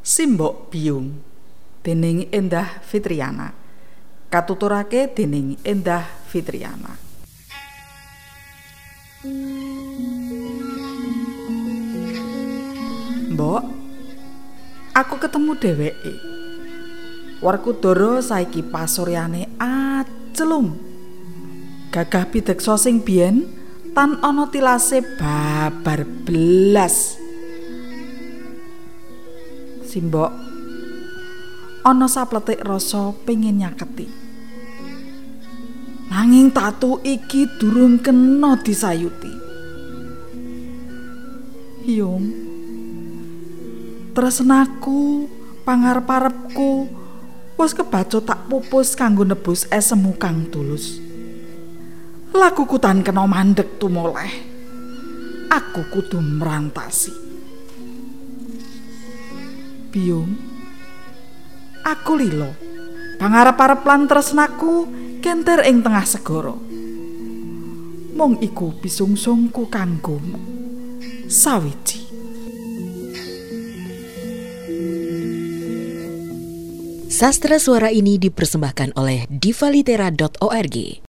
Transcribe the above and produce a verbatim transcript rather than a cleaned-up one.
Simbok Biyung déning Endah Fitriana, katuturake déning Endah Fitriana. Mbok, aku ketemu dheweke. Werkudara saiki pasuryane acelung. Gagah Pideksa sing biyen tan ana tilase babar belas. Simbok, ana sapletik rasa pengin nyaketi. Nanging tatu iki durung kena disayuti. Yung, tresnaku, pangarep-arepku wis kebacut tak pupus kanggo nebus esemu kang tulus. Lakuku tan kena mandeg tumoleh. Aku kudu merantasi. Biyung, aku lilo. Pangarep-arep lan tresnaku kenter ing tengah segara. Mung iku pisungsungku kanggomu. Sawiji. Sastra suara ini dipersembahkan oleh diva litera dot org.